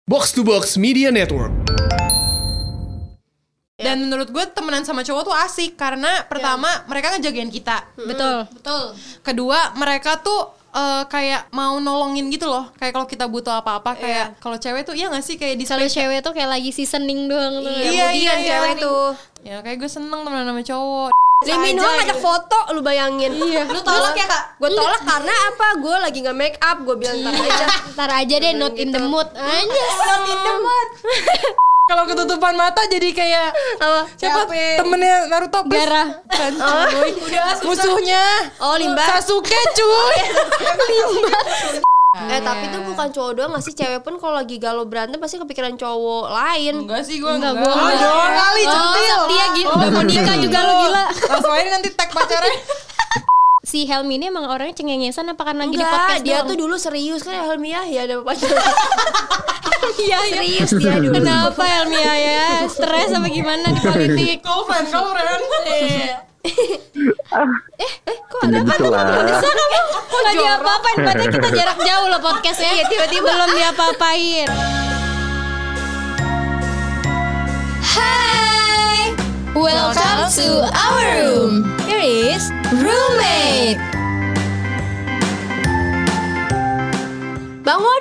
Box to Box Media Network. Dan menurut gue temenan sama cowok tuh asik karena pertama mereka ngejagain kita. Betul. Kedua mereka tuh kayak mau nolongin gitu loh. Kayak kalau kita butuh apa-apa kayak kalau cewek tuh iya gak sih kayak di Kalau cewek tuh kayak lagi seasoning doang tuh. Iya, cewek tuh. Ya kayak gue seneng temenan sama cowok. Lee Min Ho ngajak foto, lu bayangin. Iya. Lu tolak ya kak? Gue tolak karena apa? Gue lagi nggak make up. Gue bilang Ntar aja deh, not in the mood aja. Not in the mood. Kalau ketutupan mata jadi kayak siapa temennya Naruto Gaara. Musuhnya Limba. Sasuke cuy. Tapi tuh bukan cowok doang gak sih? Cewek pun kalau lagi galau berantem pasti kepikiran cowok lain. Enggak sih gue Enggak. doang kali centil. Dia gitu, udah mau nikah juga lo gila. Langsung aja nanti tag pacarnya. Si Helmi ini emang orangnya cengengesan apa karena lagi di podcast Dia doang? tuh dulu serius kan Helmi ya ada pacar. Serius dia dulu. Kenapa Helmi ya? Stres apa gimana di politik? Kau friend. Kok ada apa tuh? Bisa kamu? Kok gak diapa-apain? Padahal kita jarak jauh loh podcastnya. Iya, tiba-tiba belum diapa-apain. Hai, welcome to our room. Here is roommate. Bangun.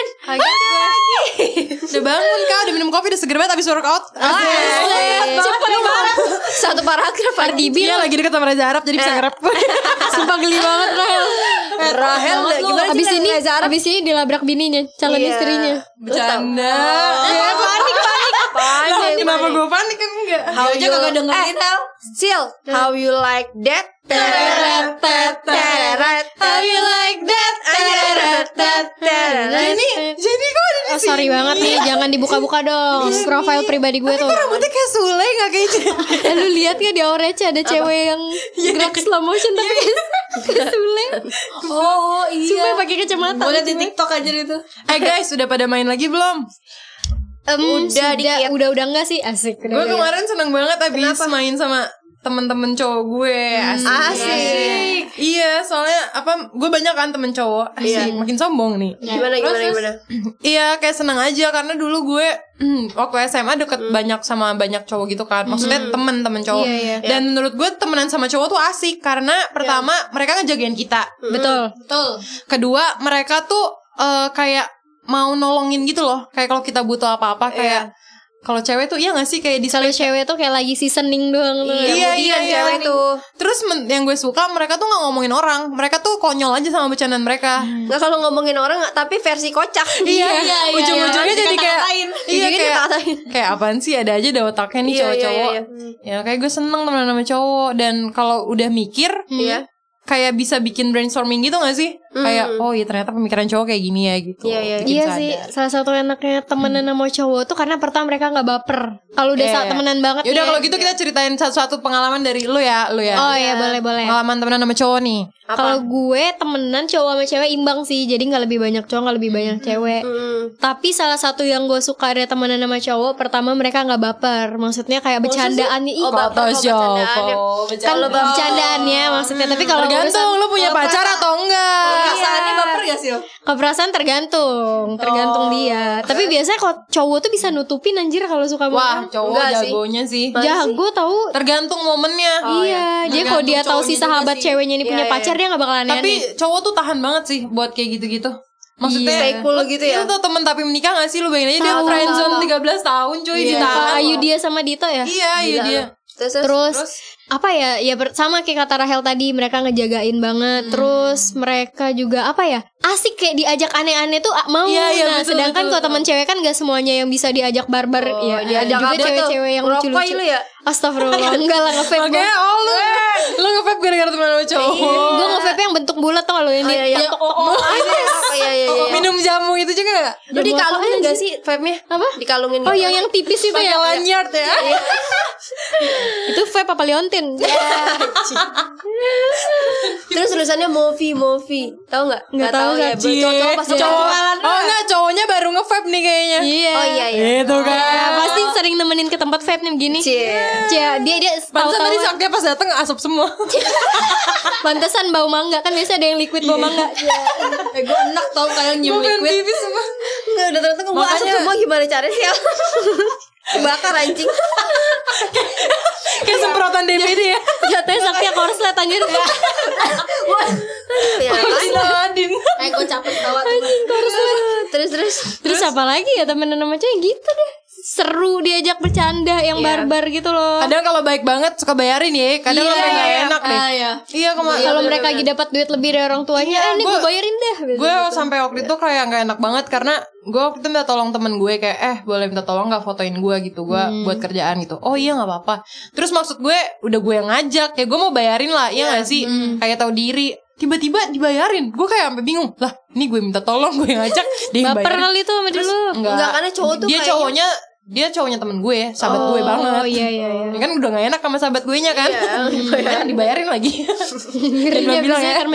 Udah bangun kak, udah minum kopi, udah seger banget abis workout. Cepet banget. Satu paragraf Cardi B Dia lagi deket sama Reza Arab jadi bisa nge-rap. sumpah geli banget Rahel. gimana Abis sih ini Reza Arab? abis ini dilabrak bininya, calon istrinya. Bercanda. Panik. Lah, kenapa gue panik kan enggak? How you kagak dengerin Sil, how you like that? How you like that? Jadi kok ada di sini? Sorry banget nih, jangan dibuka-buka dong profil pribadi gue tuh. Rambutnya kayak Sule gak kayak Lu lihat gak di Orange ada cewek yang gerak slow motion tapi kayak Sule. Oh Sumpah pakai kacamata. Boleh di TikTok aja itu. guys, udah pada main lagi belum? Udah enggak sih, asik. Gue kemarin seneng banget abis main sama temen-temen cowok gue. Asik. Iya, soalnya gue banyak kan temen cowok. Asik, makin sombong nih. Gimana? Iya, kayak seneng aja karena dulu gue waktu SMA deket banyak sama banyak cowok gitu kan. Maksudnya temen-temen cowok. Dan menurut gue temenan sama cowok tuh asik karena pertama mereka ngejagain kita. Betul. Kedua mereka tuh kayak mau nolongin gitu loh. Kayak kalau kita butuh apa-apa kayak kalau cewek tuh iya gak sih kayak di Kalau cewek tuh kayak lagi seasoning doang tuh. Iya, cewek tuh. Terus yang gue suka mereka tuh gak ngomongin orang. Mereka tuh konyol aja sama bercandaan mereka. Nggak kalau ngomongin orang tapi versi kocak. Ujung-ujungnya jadi kayak kayak apaan sih, ada aja ada otaknya nih cowok-cowok. Ya kayak gue seneng temenan sama cowok. Dan kalau udah mikir kayak bisa bikin brainstorming gitu gak sih? Kayak oh iya ternyata pemikiran cowok kayak gini ya gitu. Iya sih, salah satu enaknya temenan sama cowok tuh karena pertama mereka gak baper. Kalau udah temenan banget. Yaudah kalau gitu kita ceritain satu-satu pengalaman dari lu ya. Oh iya boleh. Pengalaman temenan sama cowok nih. Kalau gue temenan cowok sama cewek imbang sih. Jadi gak lebih banyak cowok, gak lebih banyak cewek. Tapi salah satu yang gue suka dari temenan sama cowok, pertama mereka gak baper. Maksudnya kayak bercandaannya. Kan bercandaannya maksudnya. Tapi kalau tergantung lu punya pacar atau enggak. Perasaannya baper gak sih lo? Keperasaan tergantung dia. Tapi biasanya kalau cowok tuh bisa nutupin anjir kalau suka banget. Wah cowok jagonya sih. Jago tahu. Tergantung momennya. Iya. Jadi kalau dia tahu si sahabat ceweknya ini punya pacar dia gak bakalan aneh. Tapi cowok tuh tahan banget sih buat kayak gitu-gitu. Maksudnya stay cool gitu ya. Lu tuh temen tapi menikah gak sih? Lu bayangin aja dia friendzone 13 tahun cuy ditahan. Ayu dia sama Dito ya. Iya Ayu dia. Terus apa ya sama kayak kata Rahel tadi, mereka ngejagain banget. Terus mereka juga apa ya, asik kayak diajak aneh-aneh tuh mau. Nah betul, sedangkan kalau teman cewek kan gak semuanya yang bisa diajak barbar. Diajak juga cewek-cewek yang lucu-lucu. Ya? Astagfirullah. Enggak lah, nge-vape. Oke, lu nge-vape gara-gara teman sama cowok. Gue nge-vape yang bentuk bulat tau gak lo yang minum jamu itu juga gak? Lu dikalungin gak sih vape-nya? Apa? Dikalungin gitu. Oh yang tipis itu ya, lanyard ya. Itu vape apa liontin? Terus tulisannya movie. Tahu nggak? Nggak tahu ya. Cowok pas enggak, cowoknya baru nge-vape nih kayaknya. Iya. Oh iya. Itu kan. Ya, pasti sering nemenin ke tempat vape nih begini. Dia Pantesan tadi tahu-tahu Sakti pas dateng asap semua. pantesan bau mangga kan biasa ada yang liquid bau mangga. Gue enak tau kalian nyium liquid. Pipis semua. Nggak, udah ternyata gue asap semua gimana caranya sih? Bakar anjing. Kayak semprotan DVD ya. Jatuhnya Sakti korslet anjir. Ya, Adin. gue capek tawa. Terus Terus apa lagi ya temenan sama cewek gitu deh. Seru diajak bercanda yang barbar gitu loh. Kadang kalau baik banget suka bayarin ya. Kadang sampai nggak enak deh. Iya Kalau mereka lagi dapat duit lebih dari orang tuanya, ini gue bayarin deh. Gue sampai waktu itu kayak nggak enak banget karena gue waktu itu minta tolong temen gue kayak boleh minta tolong nggak fotoin gue gitu, gue buat kerjaan gitu. Oh iya nggak apa-apa. Terus maksud gue udah gue yang ngajak ya, gue mau bayarin lah ya nggak sih, kayak tahu diri. Tiba-tiba dibayarin, gue kayak sampai bingung lah. Ini gue minta tolong, gue yang ngajak, dia yang Baper bayarin. kali tuh sama dulu. Enggak, karena cowok tuh dia cowoknya temen gue, sahabat gue banget. Oh iya. Ya kan udah gak enak sama sahabat gue nya kan. Iya, dibayarin lagi. Dan gue bilang ya,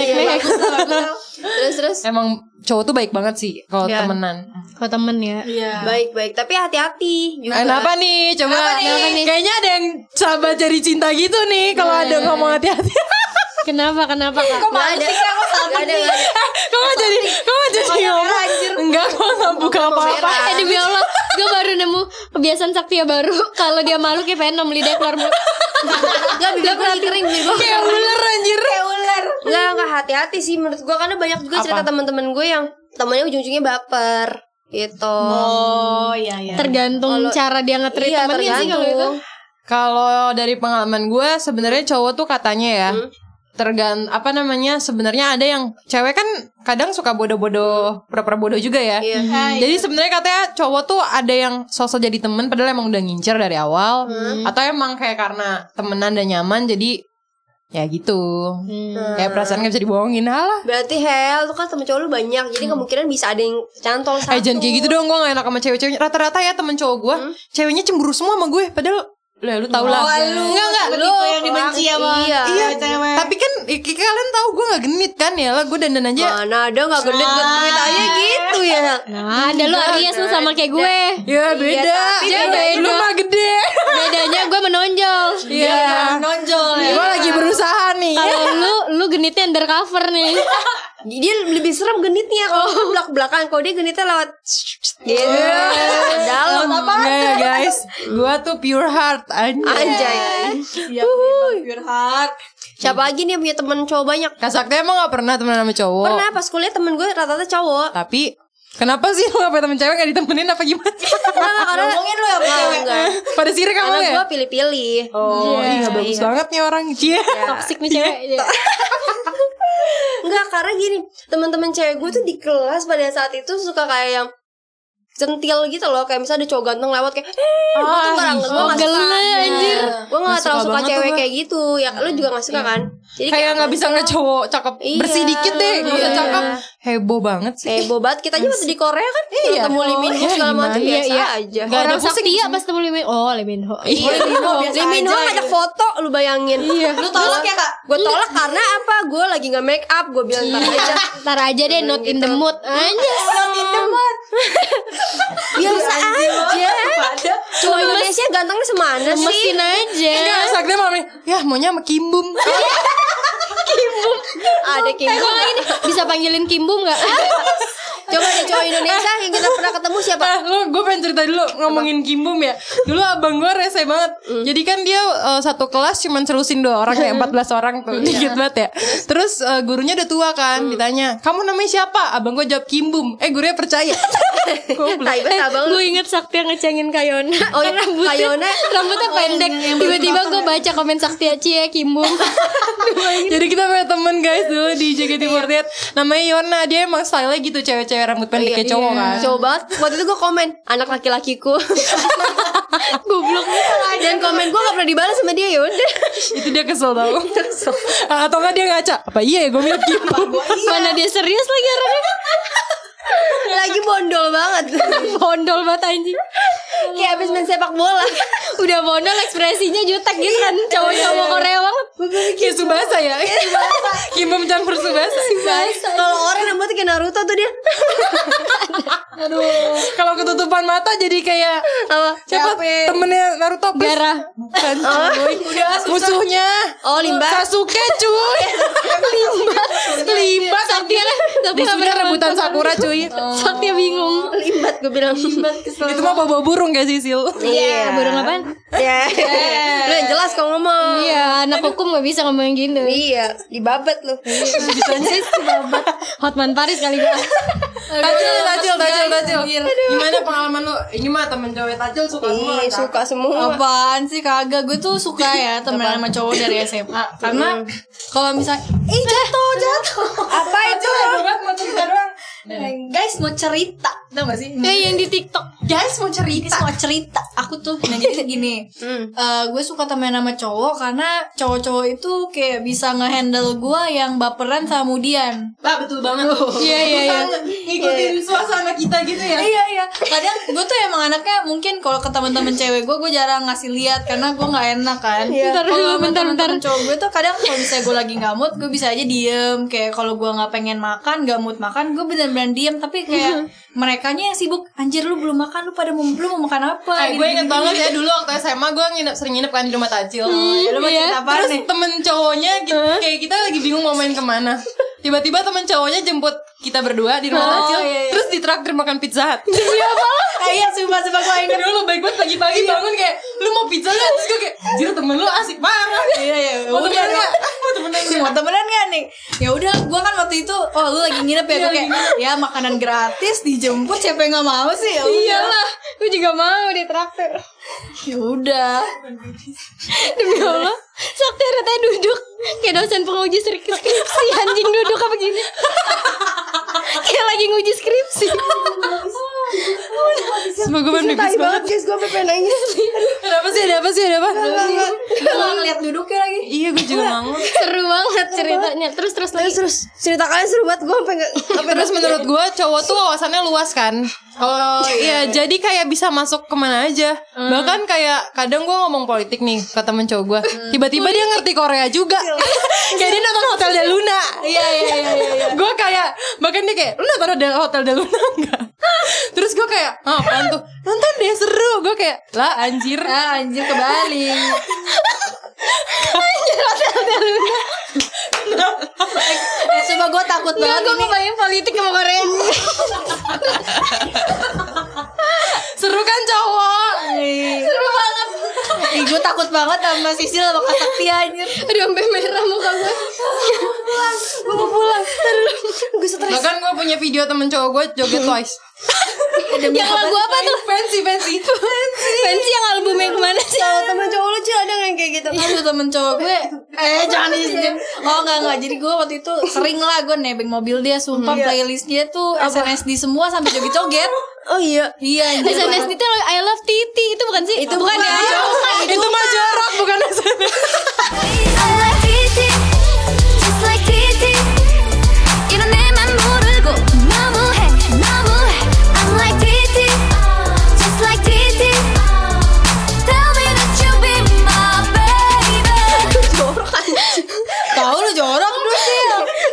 Terus emang cowok tuh baik banget sih kalau temenan. Kalau temen ya. baik, tapi hati-hati juga. Kenapa nih? Coba kayaknya ada yang sahabat jadi cinta gitu nih kalau ada ngomong hati-hati. Kenapa Kak? Kok ada? Gak ada. Kamu jadi ngomong. Enggak, gue gak buka apa-apa. Demi Allah, gue baru nemu kebiasaan Sakti ya baru. Kalau dia malu kayak pengen nemu lidah keluar mulut. Gak, bibir gue lagi kering. Kayak ular anjir. Gak hati-hati sih menurut gue. Karena banyak juga cerita teman-teman gue yang temennya ujung-ujungnya baper gitu. Oh iya. Tergantung cara dia nge-treat temennya sih kalau itu. Kalau dari pengalaman gue sebenarnya cowok tuh katanya ya sebenarnya ada yang cewek kan kadang suka bodoh-bodoh, pura-pura bodoh juga ya. Jadi sebenarnya katanya cowok tuh ada yang sosok jadi temen padahal emang udah ngincer dari awal, atau emang kayak karena temenan dan nyaman jadi ya gitu. Kayak perasaan gak bisa dibohongin. Halah. Berarti tuh kan temen cowok lu banyak. Jadi kemungkinan bisa ada yang cantol satu. Jangan kayak gitu dong, gue gak enak sama cewek-ceweknya. Rata-rata ya temen cowok gue ceweknya cemburu semua sama gue. Padahal lu tau lah. Enggak lu yang dibenci sama cewek. Tapi kan kalian tahu gue gak genit kan ya lah, gue dandan aja. Mana ada gak genit aja gitu ya. Nah ada lu Aries lu sama kayak gue. Ya beda. Lu mah gede. Bedanya gue menonjol. Iya menonjol ya. Gue lagi berusaha nih. Kalau lu genitnya undercover nih. Dia lebih serem genitnya kalau belak-belakan. Kalau dia genitnya lewat gitu. Dalam apa? Ya guys, gue tuh pure heart. Anjay. Pure heart. Siapa lagi nih yang punya temen cowok banyak? Kak Sakti emang gak pernah temenan sama cowok? Pernah, pas kuliah temen gue rata-rata cowok. Tapi kenapa sih lu gak punya temen cewek gak ditemenin apa gimana? Karena ngomongin lu ya cewek. Pada sirik kamu ya? Karena gue pilih-pilih. Oh iya bagus banget nih orang. Toxic nih cewek. Enggak, karena gini, teman-teman cewek gue tuh di kelas pada saat itu suka kayak yang centil gitu loh. Kayak misalnya ada cowok ganteng lewat kayak gue tuh gue gak suka anjir. Gue gak terlalu suka cewek kayak gitu. Ya lu juga gak suka kan? Jadi kayak gak bisa ngeliat cowok cakep bersih dikit deh. Gak usah cakep. Heboh banget sih. Heboh banget. Kita aja waktu di Korea kan ketemu Lee Min Ho segala macam biasa aja. Orang Sakti ya pas ketemu Lee Min Ho. Lee Min Ho ngajak foto, lu bayangin. Lu tolak ya Kak? Gue tolak karena apa? Gue lagi gak make up. Gue bilang ntar aja deh, not in the mood. Not in the mood. Biasa aja. Cowok Indonesia gantengnya semana sih? Mesin aja. Enggak, Sakti malam ini ya maunya sama Kimbum. Ada Kimbum. Ini bisa panggilin Kimbum gak? Coba deh cowok Indonesia yang kita pernah ketemu siapa? Gue pengen cerita dulu ngomongin Kimbum ya. Dulu abang gue rese banget. Jadi kan dia satu kelas cuman selusin 2 orang kayak 14 orang tuh. Dikit banget ya. Terus gurunya udah tua kan. Ditanya, kamu namanya siapa? Abang gue jawab Kimbum. Gurunya percaya. Gue inget Sakti yang ngecengin Kayona. Oh iya, Kayona rambutnya pendek. Tiba-tiba gue baca komen Sakti Cie Kimbum. Jadi kita punya temen guys dulu di JKT48 namanya Yona. Dia emang style-nya gitu, cewek-cewek rambut pendek kayak cowok kan. Cowok banget. Waktu itu gue komen anak laki-lakiku. Goblok. Dan komen gue gak pernah dibalas sama dia. Yaudah. Itu dia kesel tau. Atau gak dia ngaca, apa iya ya gue mirip Kimbum. Mana dia serius lagi orangnya. Lagi bondol banget. Bondol banget anjing. Kayak abis main sepak bola. Udah modal ekspresinya jutek gitu kan. Cowok-cowok Korea banget. Kayak Subasa ya. Kimum campur Subasa. Kalau orang yang buat kayak Naruto tuh dia. Aduh. Kalau ketutupan mata jadi kayak Apa? siapa temennya Naruto? Gaara. Bukan. Udah musuhnya. Oh, Limba. Sasuke cuy. Limbat. Saktia kan. Tapi gak Musuhnya pernah rebutan nonton. Sakura cuy. Saktia bingung. Limbat gue bilang. Itu mah bawa burung gak sih Sil? Iya, burung apaan? Ya. Lu yang jelas kalau ngomong. Iya, anak hukum gak bisa ngomong gitu. Iya, dibabat lu. Bisanya sih babat. Hotman Paris kali gua. Tacil. Gimana pengalaman lu? Ini mah temen cowok Tacil suka semua. Ih, suka semua. Apaan sih kagak. Gue tuh suka ya temenan sama cowok dari SMA. Karena kalau misalnya jatuh. Apa itu? Guys mau cerita, tau gak sih? Yang di TikTok. Guys mau cerita. Aku tuh nah jadi gini. Gue suka temen sama cowok karena cowok-cowok itu kayak bisa ngehandle gue yang baperan sama Mudian. Betul banget. Iya. Ngikutin suasana kita gitu ya. Iya. Kadang gue tuh emang anaknya mungkin kalau ke teman-teman cewek gue jarang ngasih lihat karena gue nggak enak kan. Bentar dulu, bentar. Cowok gue tuh kadang kalau misalnya gue lagi nggak mood, gue bisa aja diem. Kayak kalau gue nggak pengen makan, nggak mood makan, gue bener-bener diem. Tapi kayak merekanya yang sibuk. Anjir lu belum makan, lu pada belum mau makan apa? Gue inget banget ya dulu waktu SMA gue sering nginep kan di rumah Tacil. Ya, lu mau cerita apaan Terus nih? temen cowoknya kayak kita lagi bingung mau main kemana. Tiba-tiba temen cowoknya jemput kita berdua di rumah Tacil. Iya. Terus ditraktir makan Pizza Hut. Iya, sumpah gue inget. Dulu baik banget pagi-pagi bangun kayak lu mau pizza gak? Terus gue kayak anjir temen lu asik banget. Iya. Mau temenan gak? Mau temenan gak nih? Ya udah, gue kan waktu itu, lu lagi nginep ya, gue kayak ya makanan gratis dijemput, siapa yang nggak mau sih? Ya Iyalah, gue juga mau ditraktir. ya udah. Demi Allah, Sakti retanya duduk kayak dosen penguji skripsi. Anjing duduk apa gini. Kayak lagi nguji skripsi. Semoga gue pengen Tai banget guys, gue pengen nangis. Ada apa sih? Gue nggak ngeliat duduknya lagi. Iya gue juga mau. Seru banget ceritanya. Terus lagi. Terus cerita kalian seru banget. Gue sampai nggak. Terus menurut gue cowok tuh wawasannya luas kan. Oh iya, jadi kayak bisa masuk kemana aja. Bahkan kayak kadang gue ngomong politik nih ke temen cowok gue, tiba-tiba dia ngerti Korea juga. Kayak dia nonton Hotel Del Luna. Iya. Gue kayak bahkan dia kayak lu nonton Hotel Del Luna enggak? Terus gue kayak apaan tuh? Nonton deh seru. Gue kayak lah anjir. Anjir kebalik. Sumpah gue takut banget. Gue ngebayang politik sama Korea. Seru kan cowok? Seru banget. Gue takut banget sama Sisil sama Kak Sakti anjir. Aduh sampai merah muka gue. Gue mau pulang. Gue stres. Bahkan gue punya video temen cowok gue joget Twice. Yang lagu apa tuh? Fancy. Fancy yang albumnya kemana sih? Kalau temen cowok lu Cil ada yang kayak gitu? Aduh temen cowok gue jangan diizinin. Oh enggak. Jadi gue waktu itu sering lah gue nebeng mobil dia. Sumpah playlist dia tuh SNSD semua sampai joget-joget. Oh iya. Iya. SNSD itu I love Titi. Itu bukan sih? Itu bukan ya? Itu mah jorok bukan SNS. I like TT, just like TT. 이런 내맘 모르고 너무해. I'm like TT, just like TT. Tell me that you be my baby. Tahu lu jorok dulu sih.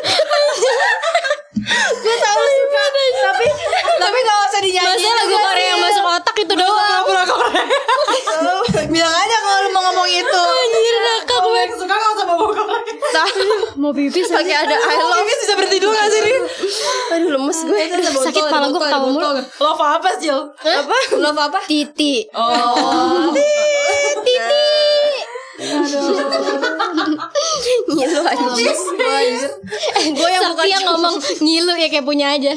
Gue tahu suka. Tapi gak usah dinyanyiin. Masa lagu Korea yang masuk otak itu doang. Bilang aja kalau lu mau ngomong itu. Anjir nakal gue. Suka gak usah bawa Korea. Mau pipis Pakai ada I love. Ini bisa berhenti dulu gak sih Rin? Aduh lemes gue. Sakit kepala gue ketawa mulu. Love apa Jil? Apa? Love apa? Titi. Oh. Ngilu anjir. Gue yang Sakti yang ngomong ngilu ya kayak punya aja.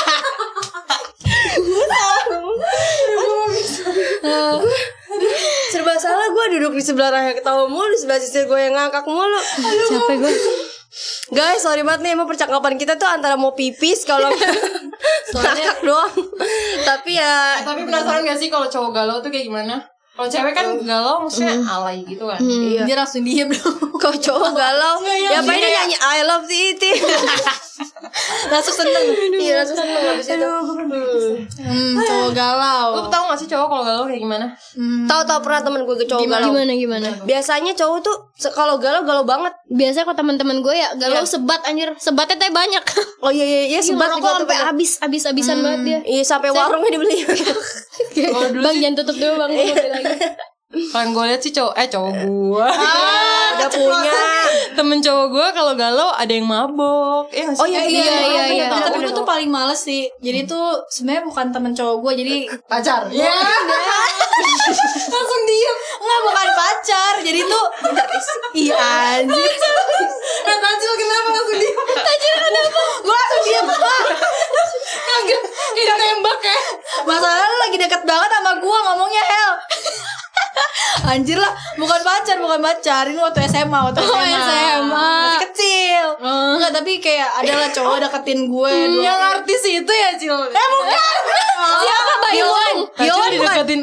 Serba salah gue duduk di sebelah Raya ketawa mulu, di sebelah Sisil gue yang ngakak mulu. Capek gue. Guys, sorry banget nih, emang percakapan kita tuh antara mau pipis kalau ngakak doang. Tapi ya Tapi penasaran gak sih kalau cowok galau tuh kayak gimana? Kalau cewek kan galau maksudnya alay gitu kan. Dia langsung diem dong. Kalau cowok galau, ya apa ini nyanyi I love Titi. Langsung seneng. Iya langsung seneng habis itu. Cowok galau. Lu tau gak sih cowok kalau galau kayak gimana? Tahu pernah temen gue ke cowok galau. Gimana? Biasanya cowok tuh kalau galau banget. Biasanya kok teman-teman gue ya galau sebat anjir. Sebatnya teh banyak. Oh iya sebat kok sampai habis-habisan banget dia. Iya sampai warungnya dibeli. Bang jangan tutup dulu bang, gue mau beli lagi. Kan gue liat sih cowok gue Udah punya temen cowok gue kalau galau ada yang mabok. Oh iya. Tapi gue tuh paling males sih. Jadi tuh sebenarnya bukan temen cowok gue, jadi pacar. Ya langsung diem. Enggak, bukan pacar. Jadi tuh iya anjir. Tajil kenapa langsung diem? Gue langsung diem. Kagak ditembak ya. Masalahnya lu lagi deket banget sama gue ngomongnya Hel. Anjir lah, bukan pacar. Ini waktu SMA. Masih kecil. Enggak, tapi kayak adalah cowok deketin gue. Yang artis itu ya Cil. Bukan. Siapa Bayuan? Acil dideketin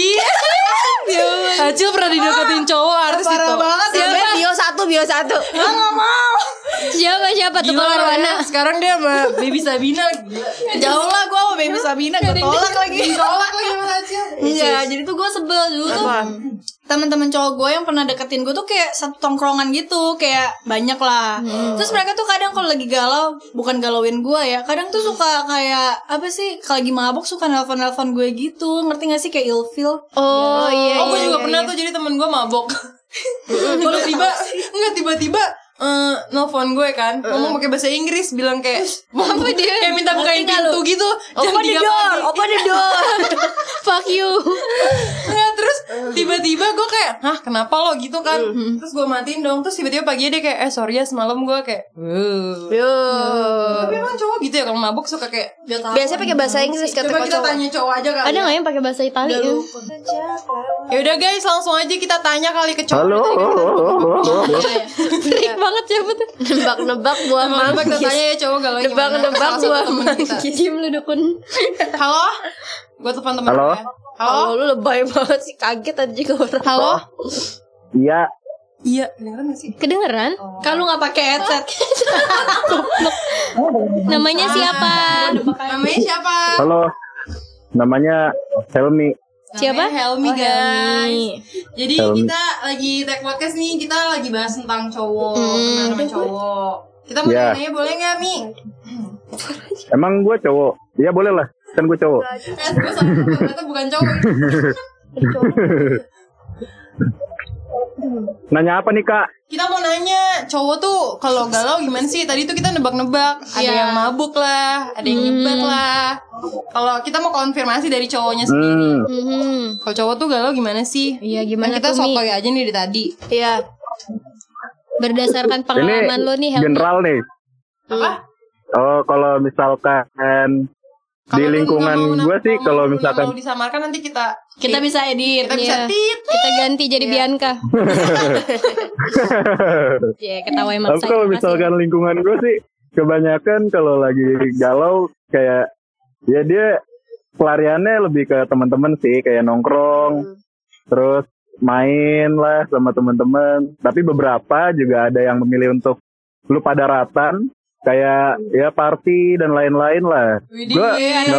Acil pernah dideketin cowok artis itu. Parah banget ya. Bio 1 Enggak mau. Siapa tuh Gila, Warwana? sekarang dia sama Baby Sabina. Jauh lah gue sama Baby Sabina. Gue tolak lagi sama Acil. Iya, jadi tuh gue sebel dulu tuh. Teman-teman cowok gue yang pernah deketin gue tuh kayak satu tongkrongan gitu, kayak banyak lah. Terus mereka tuh kadang kalau lagi galau, bukan galauin gue ya, kadang tuh suka kayak apa sih, kalau lagi mabuk suka nelfon gue gitu, ngerti gak sih, kayak ilfeel. Oh iya. Gue juga pernah tuh jadi temen gue mabok. Tiba-tiba nelfon gue kan, ngomong pakai bahasa Inggris, bilang kayak apa dia? Kayak minta bukain pintu gitu. Open the door. Fuck you. Nggak, terus tiba-tiba gue kayak, hah kenapa lo gitu kan? Terus gue matiin dong. Terus tiba-tiba pagi dia kayak, sorry ya semalam gue kayak, tapi emang cowok gitu ya kalau mabuk suka kayak, biasanya pakai bahasa Inggris kata coba kita cowok. tanya cowok aja kali. Ada nggak yang pakai bahasa Italia? Ya udah guys, langsung aja kita tanya kali ke cowok. Halo. Trik banget siapa tuh? Nebak-nebak buah Nebak kita manggis. tanya ya cowok galau gimana. Nebak-nebak Salah satu buah temen kita. Diam lu dukun. Halo? Gue telepon temen Halo? gue. Oh, lu lebay banget sih, kaget tadi juga orang. Halo? Iya, Iya, kedengeran gak sih? Kedengeran? Kalau nggak pakai headset. Namanya siapa? Namanya siapa? halo. Namanya Helmi. Siapa? Namanya Helmi guys. Jadi Helmi. kita lagi tag podcast nih, kita lagi bahas tentang cowok, teman-teman cowok. Kita mau Ya. nanya boleh gak Mi? Emang gue cowok? Iya boleh lah, kan gue cowok. Gue sama ternyata bukan cowok. Nanya apa nih kak? Kita mau nanya, cowok tuh kalau galau gimana sih? Tadi tuh kita nebak-nebak, ada yang mabuk lah, ada yang nyebat lah. Kalau kita mau konfirmasi dari cowoknya sendiri. Kalau cowok tuh galau gimana sih? Iya gimana Kan kita tuh Mi? sotoy aja nih dari tadi. Iya. Berdasarkan pengalaman lo nih Helmi. General nih. Apa? Oh kalau misalkan di Kalau lu lingkungan nggak mau- gue sih nggak kalau mau- misalkan nggak mau disamarkan nanti kita Bisa edit. kita bisa Iya. tit. Kita ganti jadi Bianca. Iya, ketawa tapi maksa. kalau misalkan lingkungan gue sih kebanyakan kalau lagi galau kayak ya dia pelariannya lebih ke teman-teman sih, kayak nongkrong terus main lah sama teman-teman. Tapi beberapa juga ada yang memilih untuk lupa daratan kayak ya party dan lain-lain lah. Gue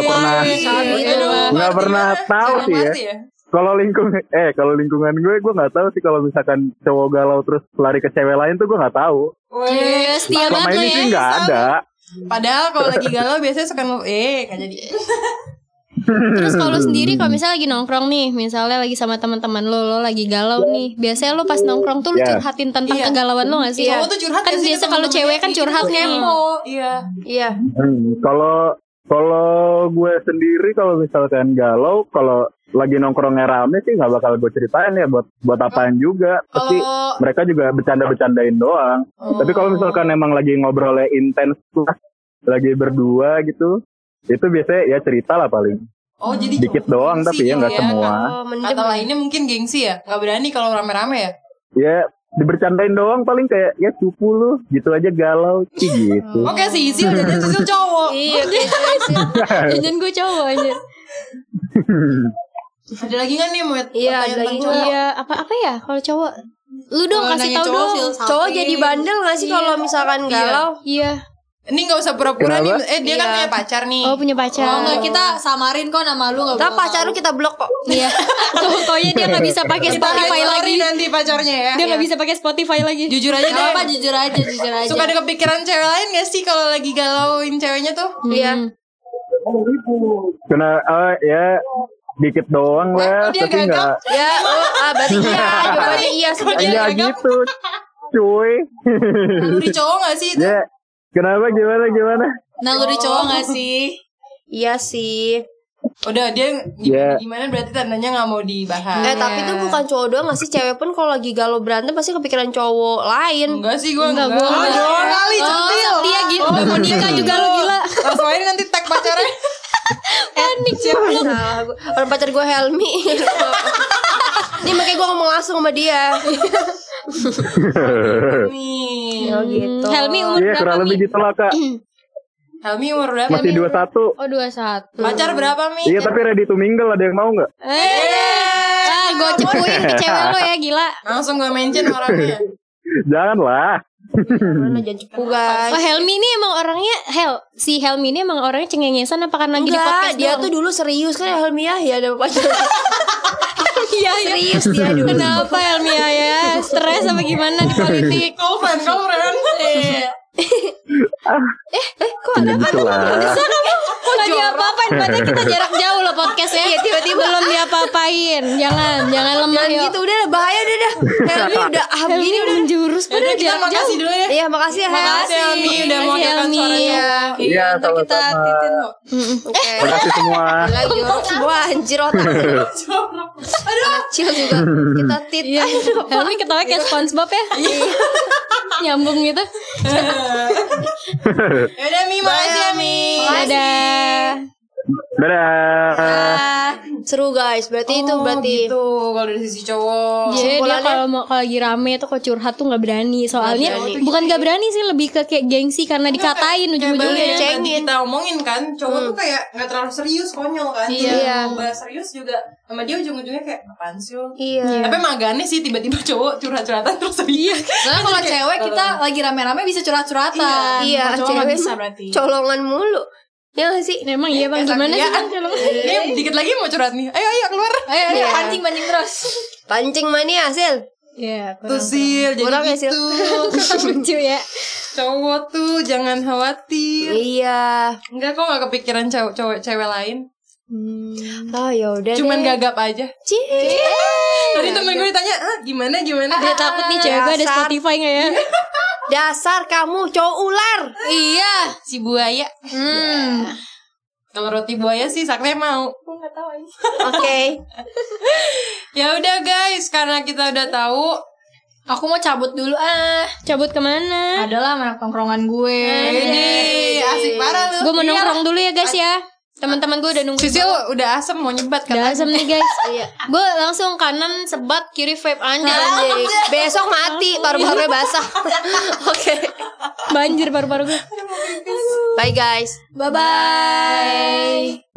nggak pernah tahu sih ya. Kalau lingkungan gue nggak tahu sih kalau misalkan cowok galau terus lari ke cewek lain tuh gue nggak tahu. Iya, setia Selama banget lo ini ya. sih nggak ada. Padahal kalau lagi galau biasanya suka nggak jadi. Terus kalau sendiri kalau misalnya lagi nongkrong nih, misalnya lagi sama teman-teman lo lagi galau nih, biasanya lo pas nongkrong tuh lo Iya. curhatin tentang kegalauan lo gak sih? Cowok tuh curhat Kan nggak sih biasa ke kalau temen-temennya? cewek kan curhat Itu nih. kepo. Iya. Iya. Kalau gue sendiri kalau misalkan galau, kalau lagi nongkrongnya rame sih nggak bakal gue ceritain ya buat apaan juga. Pasti Kalau mereka juga bercanda-bercandain doang. Tapi kalau misalkan emang lagi ngobrolnya intens lah, lagi berdua gitu, itu biasanya ya cerita lah paling. jadi Dikit cowok doang gengsi tapi ya nggak kali semua. Kata lainnya mungkin gengsi ya, nggak berani kalau rame-rame ya. Ya dibercandain doang paling kayak ya cupu lu gitu aja galau sih gitu. Oke sih, Sisil jadi Sisil cowok. Iya, jangan gue cowok aja. Ada lagi nggak nih mau? Iya, ada lagi. Iya, apa ya kalau cowok? Lu dong kasih tahu dong. Cowok jadi bandel nggak sih kalau misalkan galau? Iya. Ini nggak usah pura-pura nih. Dia kan Iya. punya pacar nih. Oh, punya pacar. Oh enggak, kita samarin kok nama lu, enggak Tapi pacar lu kita blok kok. Iya. Pokoknya dia nggak bisa pakai Spotify lagi. Nanti pacarnya ya. Dia nggak bisa pakai Spotify lagi. Jujur aja deh. apa jujur aja. Suka ada kepikiran cewek lain gak sih kalau lagi galauin ceweknya tuh? Iya. Kena ya dikit doang lah, dia tapi gagap. nggak. Ya, berarti iya. Jawabannya iya sebenarnya. Enggak gitu, cuy. Lu di cowok gak sih itu? Ya, kenapa gimana? Nah, lu di cowok enggak sih? Iya sih. Udah dia Ya. gimana berarti tandanya gak mau dibahas. Tapi itu bukan cowok doang gak sih? Cewek pun kalau lagi galau berantem pasti kepikiran cowok lain. Enggak sih gue enggak. Gua enggak. Doang kali centil. Dia gitu, udah mau nikah juga lu gila. Langsung aja nanti tag pacarnya. Panik siap lu. Salah gue. Orang pacar gue Helmi. Nih makanya gue ngomong langsung sama dia. Nih. Oh gitu. Helmi umur Iya, berapa kurang lebih nih? gitu lah, Kak. Helmi umur berapa? Masih Mi? 21. Oh 21. Pacar berapa Mi? Iya, tapi ready to mingle, ada yang mau nggak? Gue cepuin ke cewek lo ya gila. Langsung gue mention orangnya. Janganlah. Mana jangan cepu guys. Oh Helmi ini emang orangnya si Helmi ini emang orangnya cengengesan apa karena lagi di Enggak, podcast dia doang? tuh dulu serius kan Helmi ya ada pacar. Iya, Serius dia dulu. Kenapa Helmi ya? Stres apa gimana di politik? Kau friend. Kok ada Gitu lah. Kok lagi apa-apain? Padahal kita jarak jauh loh podcastnya. Iya, tiba-tiba belum diapa-apain. Jangan lemah Jangan yuk. gitu udah bahaya dah. Helmi udah Helmi udah menjurus Udah padahal kita jarak makasih jauh. dulu ya. Iya, makasih ya. Makasih Helmi udah mau Makasih, dengarkan Helmi. suara cowok. Iya, Ntar kita sama-sama. titin kok. Terima kasih semua. Gila jorok semua anjir otak. Kecil juga kita tit. Iya. Helmi ketawa kayak SpongeBob ya. Nyambung gitu. Yaudah Mi, makasih ya Mi. Dadah. Dadah. Seru guys, berarti itu berarti. Gitu kalau dari sisi cowok. Jadi dia Kesimpulannya? kalau lagi rame tuh kok curhat tuh nggak berani. Soalnya Nggak berani. bukan nggak berani sih, lebih ke kayak gengsi karena dikatain ujung-ujungnya. Yang tadi cengin. kita omongin kan, cowok tuh kayak gak terlalu serius, konyol kan. Iya. Mau bahas serius juga sama dia ujung-ujungnya kayak apaan sih lo? Iya. Tapi emang agak aneh sih tiba-tiba cowok curhat-curhatan terus serius. Soalnya kalau cewek kita lagi rame-rame bisa curhat-curhatan. Iya, Kalau cowok nggak cewek bisa mah berarti. colongan mulu. Ya gak sih? Emang iya bang, gimana sih bang? Dikit lagi mau curhat nih. Ayo keluar. Ayo, Iya. pancing terus. Pancing mania hasil. Iya, Tuh Sil, jadi Kurang ya, Sil? gitu. lucu ya. Cowok tuh jangan khawatir. Iya. Enggak kok gak kepikiran cowok cewek lain. Oh ya udah. Cuman gagap aja. Cie. Tadi temen gue ditanya, gimana? Dia takut nih cewek gue ada Dasar. Spotify nggak ya? Dasar kamu cowok ular. Iya, si buaya. Kalau roti buaya sih Sakne mau. Oke. Ya udah guys, karena kita udah tahu. Aku mau cabut dulu Cabut kemana? Adalah anak tongkrongan gue. Ini asik parah lu. Gue mau nongkrong dulu ya guys ya. Teman-teman gue udah nunggu. Sisil udah asem mau nyebat Udah katanya. asem nih guys. Iya. Gue langsung kanan sebat, kiri vape anjir. Besok mati paru-parunya basah. Oke. Banjir paru-paru gue. Bye guys. Bye bye.